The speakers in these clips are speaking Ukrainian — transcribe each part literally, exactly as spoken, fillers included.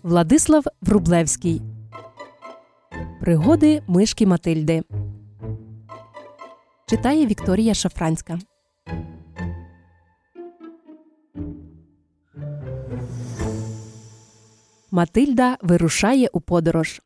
Владислав Врублевський. Пригоди мишки Матильди. Читає Вікторія Шафранська. Матильда вирушає у подорож.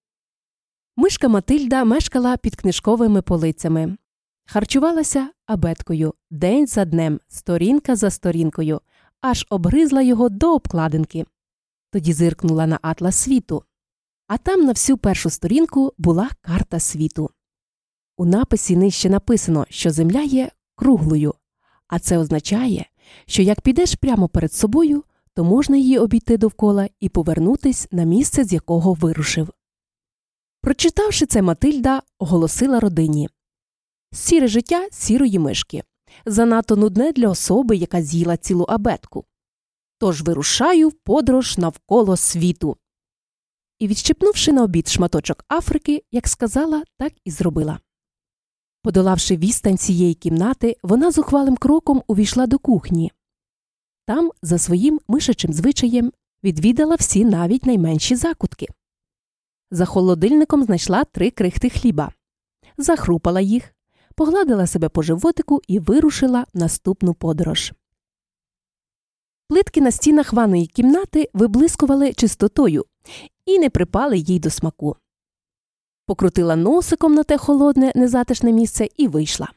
Мишка Матильда мешкала під книжковими полицями. Харчувалася абеткою день за днем, сторінка за сторінкою, аж обгризла його до обкладинки. Тоді зиркнула на атлас світу. А там на всю першу сторінку була карта світу. У написі нижче написано, що Земля є круглою, а це означає, що як підеш прямо перед собою, то можна її обійти довкола і повернутись на місце, з якого вирушив. Прочитавши це, Матильда оголосила родині: «Сіре життя сірої мишки. Занадто нудне для особи, яка з'їла цілу абетку. Тож вирушаю в подорож навколо світу». І, відщепнувши на обід шматочок Африки, як сказала, так і зробила. Подолавши відстань цієї кімнати, вона зухвалим кроком увійшла до кухні. Там, за своїм мишачим звичаєм, відвідала всі навіть найменші закутки. За холодильником знайшла три крихти хліба. Захрупала їх, погладила себе по животику і вирушила в наступну подорож. Плитки на стінах ванної кімнати виблискували чистотою і не припали їй до смаку. Покрутила носиком на те холодне, незатишне місце і вийшла.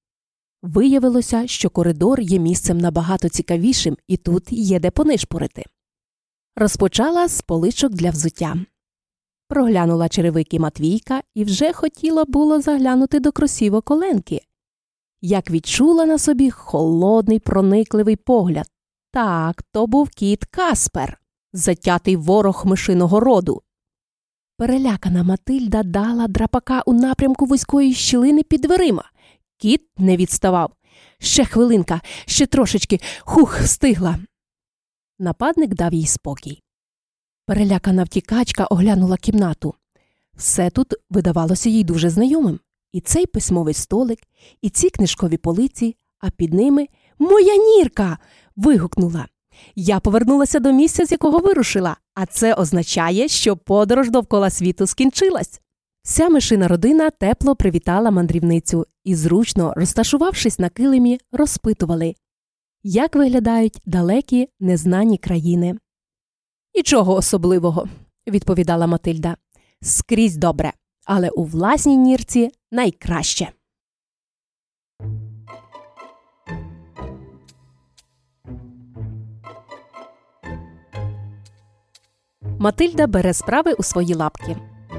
Виявилося, що коридор є місцем набагато цікавішим, і тут є де понишпорити. Розпочала з поличок для взуття. Проглянула черевики Матвійка і вже хотіла було заглянути до кросівок Оленки, як відчула на собі холодний проникливий погляд. Так, то був кіт Каспер, затятий ворог мишиного роду. Перелякана Матильда дала драпака у напрямку вузької щілини під дверима. Кіт не відставав. Ще хвилинка, ще трошечки, хух, встигла. Нападник дав їй спокій. Перелякана втікачка оглянула кімнату. Все тут видавалося їй дуже знайомим. І цей письмовий столик, і ці книжкові полиці, а під ними «Моя нірка!» вигукнула. Я повернулася до місця, з якого вирушила, а це означає, що подорож довкола світу скінчилась. Вся мишина родина тепло привітала мандрівницю і, зручно розташувавшись на килимі, розпитували, як виглядають далекі незнані країни. «Нічого особливого», – відповідала Матильда. «Скрізь добре, але у власній нірці найкраще». Матильда бере справи у свої лапки.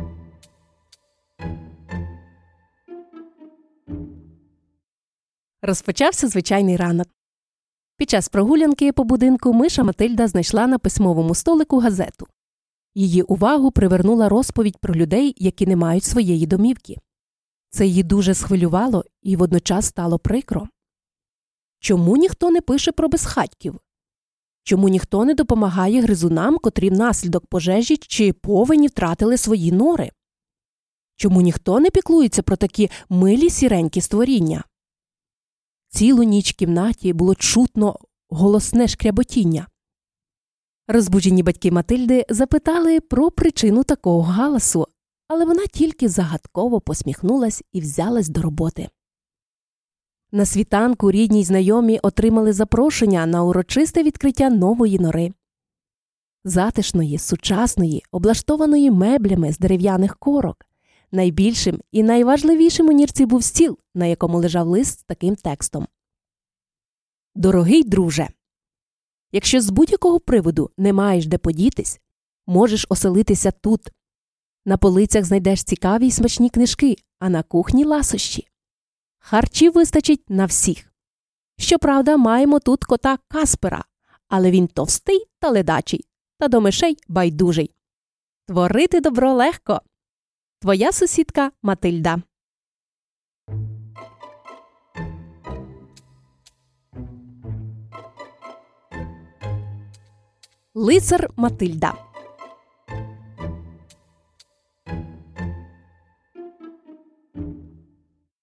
Розпочався звичайний ранок. Під час прогулянки по будинку миша Матильда знайшла на письмовому столику газету. Її увагу привернула розповідь про людей, які не мають своєї домівки. Це її дуже схвилювало і водночас стало прикро. Чому ніхто не пише про безхатьків? Чому ніхто не допомагає гризунам, котрі внаслідок пожежі чи повені втратили свої нори? Чому ніхто не піклується про такі милі сіренькі створіння? Цілу ніч в кімнаті було чутно голосне шкряботіння. Розбуджені батьки Матильди запитали про причину такого галасу, але вона тільки загадково посміхнулась і взялась до роботи. На світанку рідні й знайомі отримали запрошення на урочисте відкриття нової нори. Затишної, сучасної, облаштованої меблями з дерев'яних корок. Найбільшим і найважливішим у нірці був стіл, на якому лежав лист з таким текстом. «Дорогий друже, якщо з будь-якого приводу не маєш де подітись, можеш оселитися тут. На полицях знайдеш цікаві й смачні книжки, а на кухні – ласощі. Харчів вистачить на всіх. Щоправда, маємо тут кота Каспера, але він товстий та ледачий, та до мишей байдужий. Творити добро легко. Твоя сусідка Матильда». Лицар Матильда.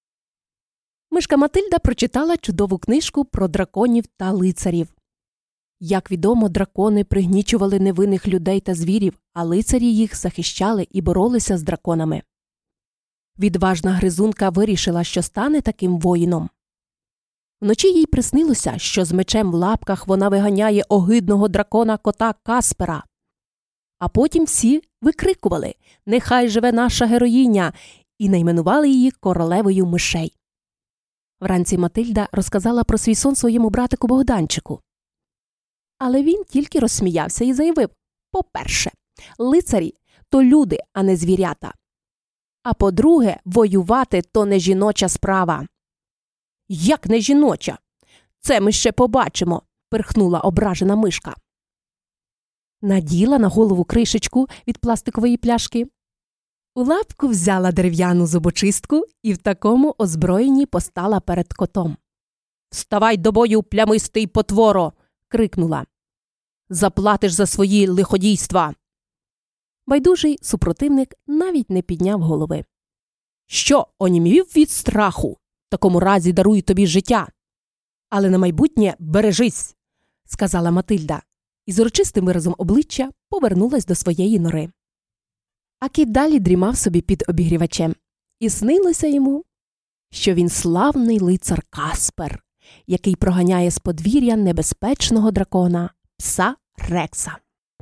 Мишка Матильда прочитала чудову книжку про драконів та лицарів. Як відомо, дракони пригнічували невинних людей та звірів, а лицарі їх захищали і боролися з драконами. Відважна гризунка вирішила, що стане таким воїном. Вночі їй приснилося, що з мечем в лапках вона виганяє огидного дракона-кота Каспера. А потім всі викрикували «Нехай живе наша героїня!» і найменували її королевою мишей. Вранці Матильда розказала про свій сон своєму братику Богданчику. Але він тільки розсміявся і заявив: по-перше, лицарі – то люди, а не звірята. А по-друге, воювати – то не жіноча справа. «Як не жіноча? Це ми ще побачимо», – пирхнула ображена мишка. Наділа на голову кришечку від пластикової пляшки. У лапку взяла дерев'яну зубочистку і в такому озброєнні постала перед котом. «Вставай до бою, плямистий потворо!» – крикнула. «Заплатиш за свої лиходійства!» Байдужий супротивник навіть не підняв голови. «Що, онімів від страху? В такому разі дарую тобі життя. Але на майбутнє бережись!» – сказала Матильда, і з урочистим виразом обличчя повернулась до своєї нори. А кіт далі дрімав собі під обігрівачем. І снилося йому, що він славний лицар Каспер, який проганяє з подвір'я небезпечного дракона пса Рекса.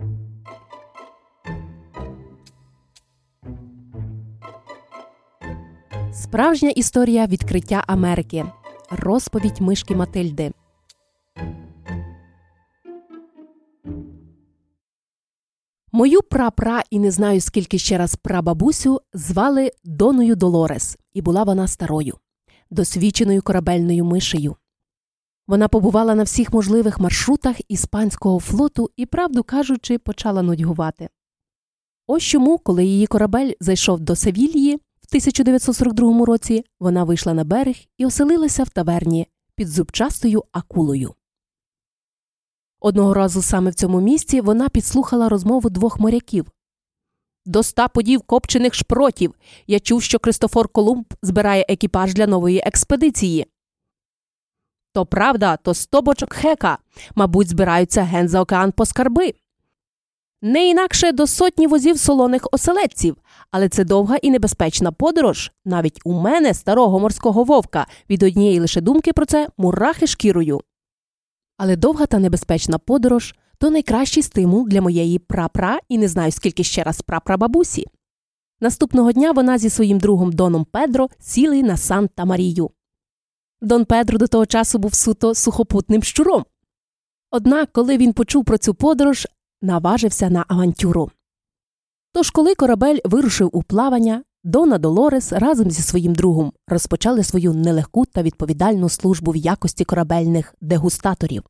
Справжня історія відкриття Америки. Розповідь мишки Матильди. Мою прапра і не знаю скільки ще раз прабабусю звали Доною Долорес, і була вона старою, досвідченою корабельною мишею. Вона побувала на всіх можливих маршрутах іспанського флоту і, правду кажучи, почала нудьгувати. Ось чому, коли її корабель зайшов до Севільї в тисяча дев'ятсот сорок другому році, вона вийшла на берег і оселилася в таверні під зубчастою акулою. Одного разу саме в цьому місці вона підслухала розмову двох моряків. «До ста подів копчених шпротів! Я чув, що Христофор Колумб збирає екіпаж для нової експедиції». «То правда, то сто бочок хека. Мабуть, збираються ген за океан по скарби». «Не інакше до сотні возів солоних оселедців. Але це довга і небезпечна подорож. Навіть у мене, старого морського вовка, від однієї лише думки про це мурахи шкірою». Але довга та небезпечна подорож – то найкращий стимул для моєї прапра і не знаю скільки ще раз прапрабабусі. Наступного дня вона зі своїм другом Доном Педро сіли на Санта-Марію. Дон Педро до того часу був суто сухопутним щуром. Однак, коли він почув про цю подорож, наважився на авантюру. Тож, коли корабель вирушив у плавання, Дона Долорес разом зі своїм другом розпочали свою нелегку та відповідальну службу в якості корабельних дегустаторів.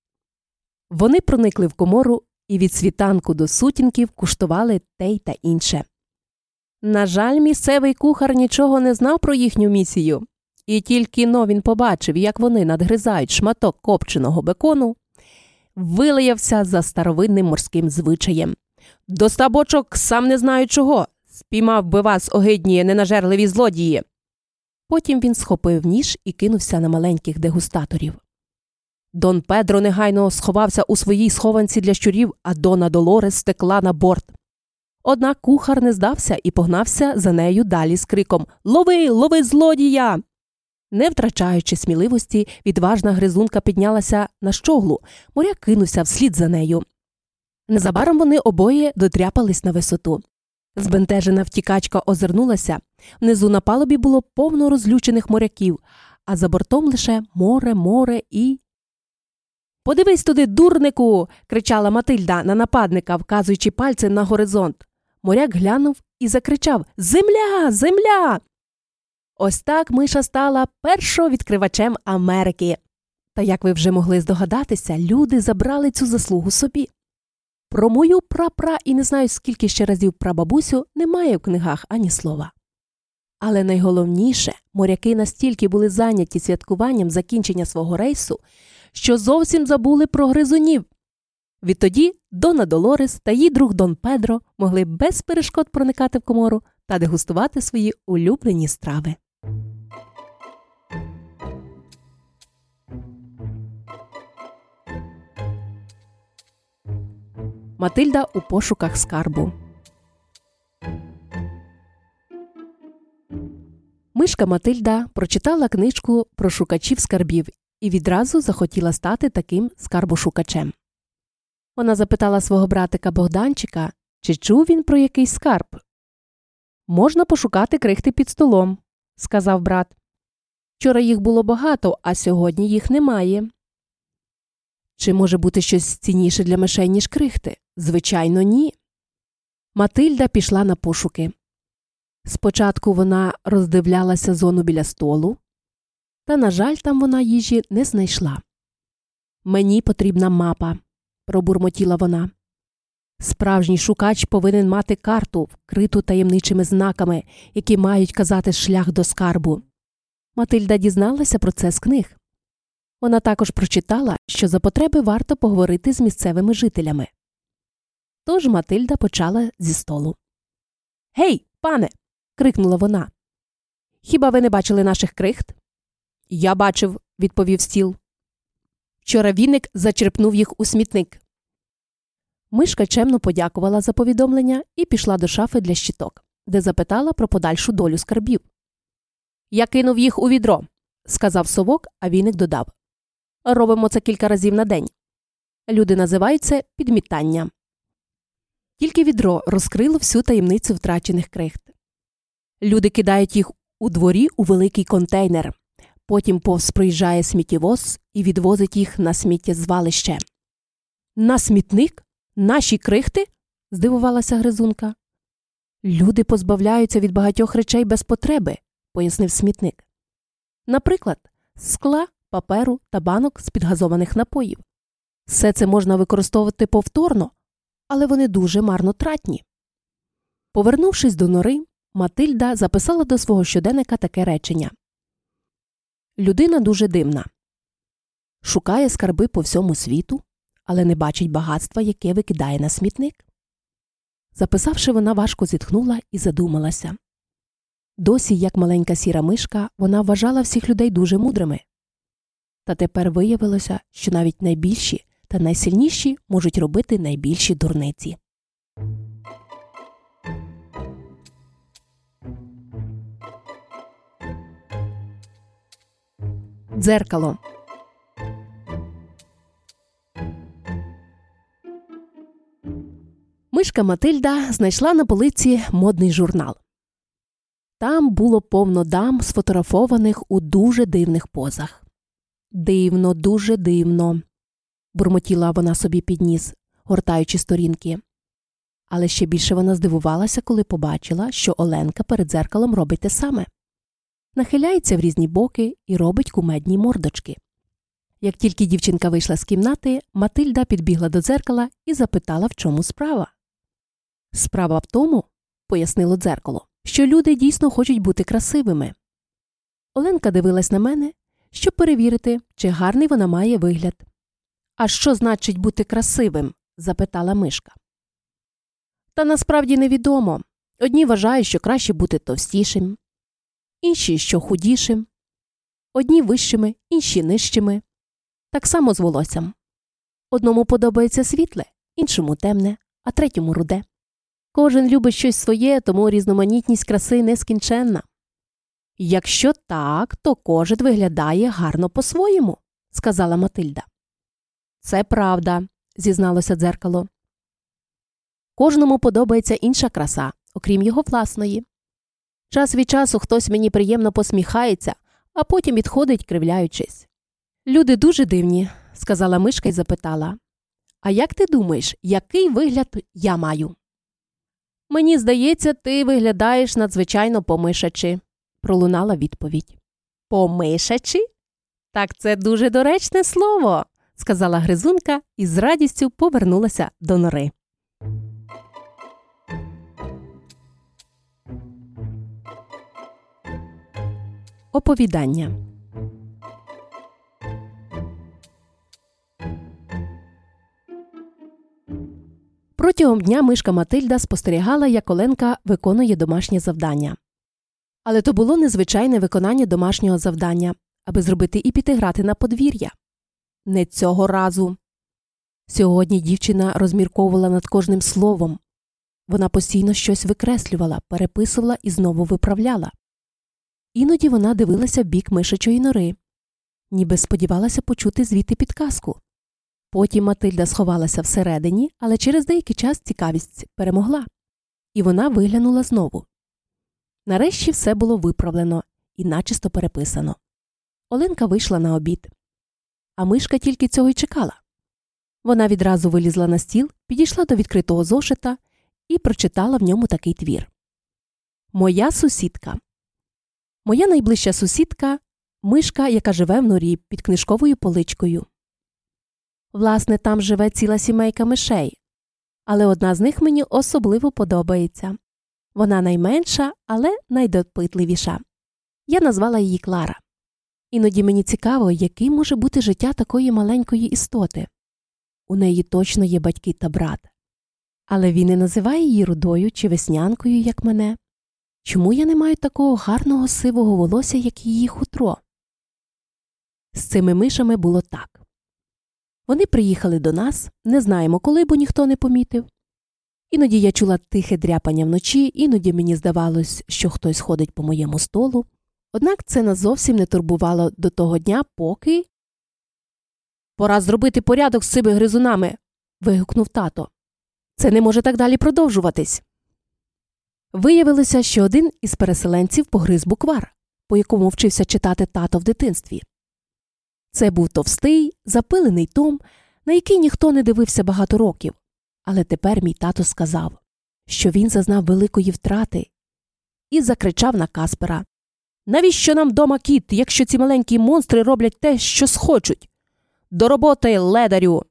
Вони проникли в комору і від світанку до сутінків куштували те й та інше. На жаль, місцевий кухар нічого не знав про їхню місію. І тільки но він побачив, як вони надгризають шматок копченого бекону, вилаявся за старовинним морським звичаєм. «До ста бочок сам не знаю чого! Спіймав би вас, огидні, ненажерливі злодії!» Потім він схопив ніж і кинувся на маленьких дегустаторів. Дон Педро негайно сховався у своїй схованці для щурів, а Дона Долорес стекла на борт. Однак кухар не здався і погнався за нею далі з криком «Лови! Лови злодія!». Не втрачаючи сміливості, відважна гризунка піднялася на щоглу, моряк кинувся вслід за нею. Незабаром вони обоє дотряпались на висоту. Збентежена втікачка озирнулася. Внизу на палубі було повно розлючених моряків, а за бортом лише море, море і… «Подивись туди, дурнику!» – кричала Матильда на нападника, вказуючи пальцем на горизонт. Моряк глянув і закричав «Земля! Земля!». Ось так миша стала першовідкривачем Америки. Та, як ви вже могли здогадатися, люди забрали цю заслугу собі. Про мою прапра і не знаю скільки ще разів прабабусю немає в книгах ані слова. Але найголовніше, моряки настільки були зайняті святкуванням закінчення свого рейсу, що зовсім забули про гризунів. Відтоді Дона Долорес та її друг Дон Педро могли без перешкод проникати в комору та дегустувати свої улюблені страви. Матильда у пошуках скарбу. Мишка Матильда прочитала книжку про шукачів скарбів і відразу захотіла стати таким скарбошукачем. Вона запитала свого братика Богданчика, чи чув він про якийсь скарб. «Можна пошукати крихти під столом», – сказав брат. «Вчора їх було багато, а сьогодні їх немає». «Чи може бути щось цінніше для мишей, ніж крихти?» «Звичайно, ні». Матильда пішла на пошуки. Спочатку вона роздивлялася зону біля столу, та, на жаль, там вона їжі не знайшла. «Мені потрібна мапа», – пробурмотіла вона. Справжній шукач повинен мати карту, вкриту таємничими знаками, які мають казати шлях до скарбу. Матильда дізналася про це з книг. Вона також прочитала, що за потреби варто поговорити з місцевими жителями. Тож Матильда почала зі столу. «Гей, пане!» – крикнула вона. «Хіба ви не бачили наших крихт?» «Я бачив», – відповів стіл. «Вчора віник зачерпнув їх у смітник». Мишка чемно подякувала за повідомлення і пішла до шафи для щиток, де запитала про подальшу долю скарбів. «Я кинув їх у відро», – сказав совок, а віник додав. «Робимо це кілька разів на день. Люди називають це підмітання». Тільки відро розкрило всю таємницю втрачених крихт. Люди кидають їх у дворі у великий контейнер. Потім повз проїжджає сміттєвоз і відвозить їх на сміттєзвалище. «На смітник? Наші крихти?» – здивувалася Гризунка. «Люди позбавляються від багатьох речей без потреби», – пояснив смітник. «Наприклад, скла, паперу та банок з підгазованих напоїв. Все це можна використовувати повторно, але вони дуже марнотратні». Повернувшись до нори, Матильда записала до свого щоденника таке речення. «Людина дуже дивна. Шукає скарби по всьому світу, але не бачить багатства, яке викидає на смітник». Записавши, вона важко зітхнула і задумалася. Досі, як маленька сіра мишка, вона вважала всіх людей дуже мудрими. Та тепер виявилося, що навіть найбільші та найсильніші можуть робити найбільші дурниці. Дзеркало. Мишка Матильда знайшла на полиці модний журнал. Там було повно дам, сфотографованих у дуже дивних позах. «Дивно, дуже дивно», – бурмотіла вона собі під ніс, гортаючи сторінки. Але ще більше вона здивувалася, коли побачила, що Оленка перед дзеркалом робить те саме. Нахиляється в різні боки і робить кумедні мордочки. Як тільки дівчинка вийшла з кімнати, Матильда підбігла до дзеркала і запитала, в чому справа. «Справа в тому, – пояснило дзеркало, – що люди дійсно хочуть бути красивими». Оленка дивилась на мене, щоб перевірити, чи гарний вона має вигляд. «А що значить бути красивим?» – запитала мишка. «Та насправді невідомо. Одні вважають, що краще бути товстішим, інші, що худішим, одні вищими, інші нижчими. Так само з волоссям. Одному подобається світле, іншому темне, а третьому руде. Кожен любить щось своє, тому різноманітність краси нескінченна». «Якщо так, то кожен виглядає гарно по-своєму», – сказала Матильда. «Це правда», – зізналося дзеркало. «Кожному подобається інша краса, окрім його власної. Час від часу хтось мені приємно посміхається, а потім відходить, кривляючись». «Люди дуже дивні», – сказала мишка і запитала. «А як ти думаєш, який вигляд я маю?» «Мені здається, ти виглядаєш надзвичайно помишачи», – пролунала відповідь. «Помишачи? Так це дуже доречне слово», – сказала Гризунка і з радістю повернулася до нори. Оповідання. Протягом дня мишка Матильда спостерігала, як Оленка виконує домашнє завдання. Але то було незвичайне виконання домашнього завдання, аби зробити і піти грати на подвір'я. Не цього разу. Сьогодні дівчина розмірковувала над кожним словом. Вона постійно щось викреслювала, переписувала і знову виправляла. Іноді вона дивилася в бік мишачої нори, ніби сподівалася почути звідти підказку. Потім Матильда сховалася всередині, але через деякий час цікавість перемогла. І вона виглянула знову. Нарешті все було виправлено і начисто переписано. Оленка вийшла на обід. А мишка тільки цього й чекала. Вона відразу вилізла на стіл, підійшла до відкритого зошита і прочитала в ньому такий твір. «Моя сусідка». Моя найближча сусідка – мишка, яка живе в норі під книжковою поличкою. Власне, там живе ціла сімейка мишей, але одна з них мені особливо подобається. Вона найменша, але найдопитливіша. Я назвала її Клара. Іноді мені цікаво, яким може бути життя такої маленької істоти. У неї точно є батьки та брат. Але він не називає її рудою чи веснянкою, як мене. Чому я не маю такого гарного сивого волосся, як її хутро? З цими мишами було так. Вони приїхали до нас, не знаємо коли, бо ніхто не помітив. Іноді я чула тихе дряпання вночі, іноді мені здавалось, що хтось ходить по моєму столу. Однак це нас зовсім не турбувало до того дня, поки… «Пора зробити порядок з цими гризунами!» – вигукнув тато. «Це не може так далі продовжуватись!» Виявилося, що один із переселенців погриз буквар, по якому вчився читати тато в дитинстві. Це був товстий, запилений том, на який ніхто не дивився багато років. Але тепер мій тато сказав, що він зазнав великої втрати і закричав на Каспера. «Навіщо нам дома кіт, якщо ці маленькі монстри роблять те, що схочуть? До роботи, ледарю!»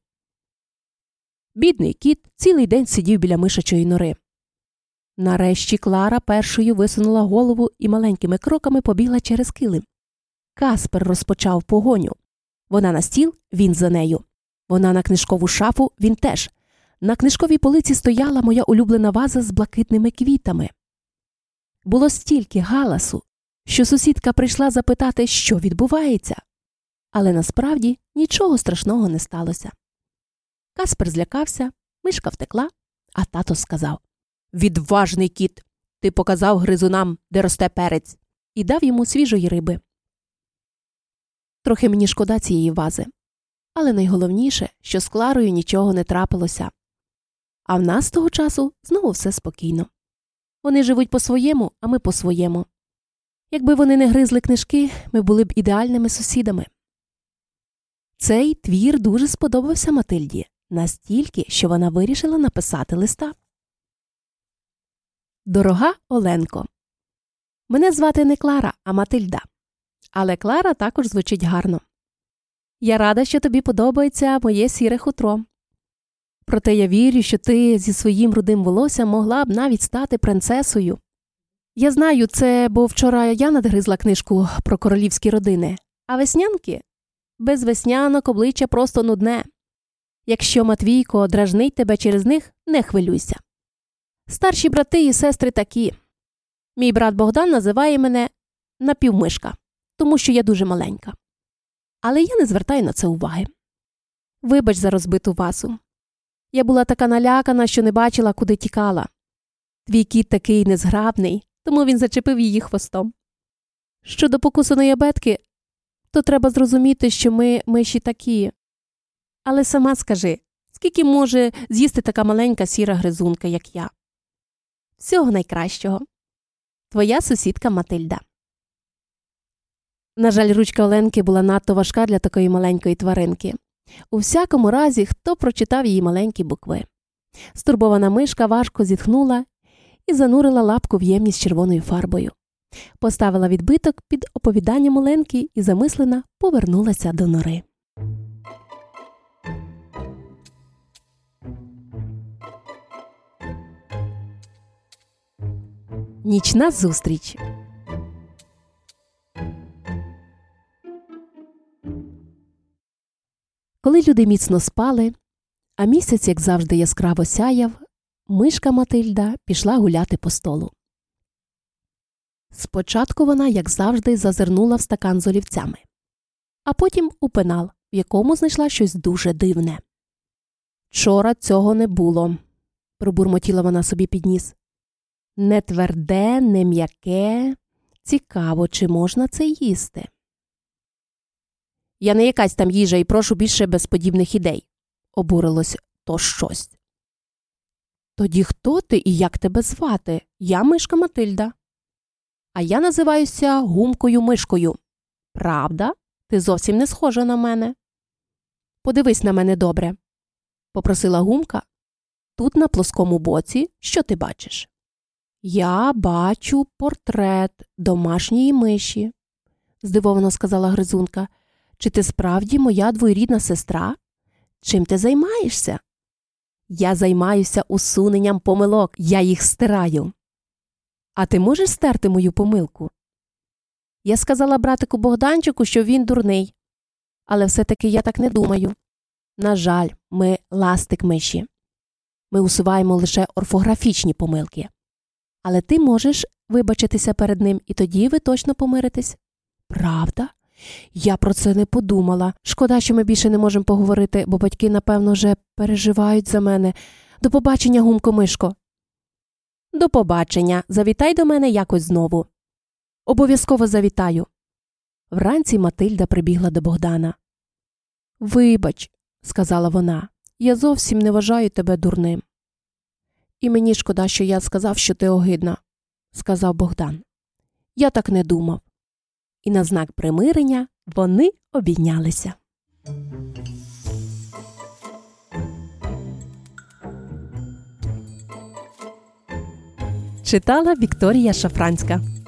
Бідний кіт цілий день сидів біля мишачої нори. Нарешті Клара першою висунула голову і маленькими кроками побігла через килим. Каспер розпочав погоню. Вона на стіл, він за нею. Вона на книжкову шафу, він теж. На книжковій полиці стояла моя улюблена ваза з блакитними квітами. Було стільки галасу, що сусідка прийшла запитати, що відбувається. Але насправді нічого страшного не сталося. Каспер злякався, мишка втекла, а тато сказав: «Відважний кіт! Ти показав гризунам, де росте перець!» і дав йому свіжої риби. Трохи мені шкода цієї вази. Але найголовніше, що з Кларою нічого не трапилося. А в нас того часу знову все спокійно. Вони живуть по-своєму, а ми по-своєму. Якби вони не гризли книжки, ми були б ідеальними сусідами. Цей твір дуже сподобався Матильді, настільки, що вона вирішила написати листа. Дорога Оленко, мене звати не Клара, а Матильда. Але Клара також звучить гарно. Я рада, що тобі подобається моє сіре хутро. Проте я вірю, що ти зі своїм рудим волоссям могла б навіть стати принцесою. Я знаю це, бо вчора я надгризла книжку про королівські родини. А веснянки? Без веснянок обличчя просто нудне. Якщо Матвійко дражнить тебе через них, не хвилюйся. Старші брати і сестри такі. Мій брат Богдан називає мене напівмишка, тому що я дуже маленька. Але я не звертаю на це уваги. Вибач за розбиту вазу. Я була така налякана, що не бачила, куди тікала. Твій кіт такий незграбний, тому він зачепив її хвостом. Щодо покусаної абетки, то треба зрозуміти, що ми миші такі. Але сама скажи, скільки може з'їсти така маленька сіра гризунка, як я? Всього найкращого. Твоя сусідка Матильда. На жаль, ручка Оленки була надто важка для такої маленької тваринки. У всякому разі, хто прочитав її маленькі букви. Стурбована мишка важко зітхнула і занурила лапку в ємність з червоною фарбою. Поставила відбиток під оповіданням Оленки і замислена повернулася до нори. Нічна зустріч. Коли люди міцно спали, а місяць, як завжди, яскраво сяяв, мишка Матильда пішла гуляти по столу. Спочатку вона, як завжди, зазирнула в стакан з олівцями, а потім у пенал, в якому знайшла щось дуже дивне. Вчора цього не було, пробурмотіла вона собі під ніс. Не тверде, не м'яке. Цікаво, чи можна це їсти? Я не якась там їжа і прошу більше без подібних ідей, обурилось то щось. Тоді хто ти і як тебе звати? Я мишка Матильда. А я називаюся Гумкою-мишкою. Правда? Ти зовсім не схожа на мене. Подивись на мене добре, попросила Гумка. Тут на плоскому боці що ти бачиш? Я бачу портрет домашньої миші, здивовано сказала Гризунка. Чи ти справді моя двоюрідна сестра? Чим ти займаєшся? Я займаюся усуненням помилок, я їх стираю. А ти можеш стерти мою помилку? Я сказала братику Богданчику, що він дурний. Але все-таки я так не думаю. На жаль, ми ластик миші. Ми усуваємо лише орфографічні помилки. Але ти можеш вибачитися перед ним, і тоді ви точно помиритесь. Правда? Я про це не подумала. Шкода, що ми більше не можемо поговорити, бо батьки, напевно, вже переживають за мене. До побачення, Гумко-мишко. До побачення. Завітай до мене якось знову. Обов'язково завітаю. Вранці Матильда прибігла до Богдана. Вибач, сказала вона, я зовсім не вважаю тебе дурним. І мені шкода, що я сказав, що ти огидна, сказав Богдан. Я так не думав. І на знак примирення вони обійнялися. Читала Вікторія Шафранська.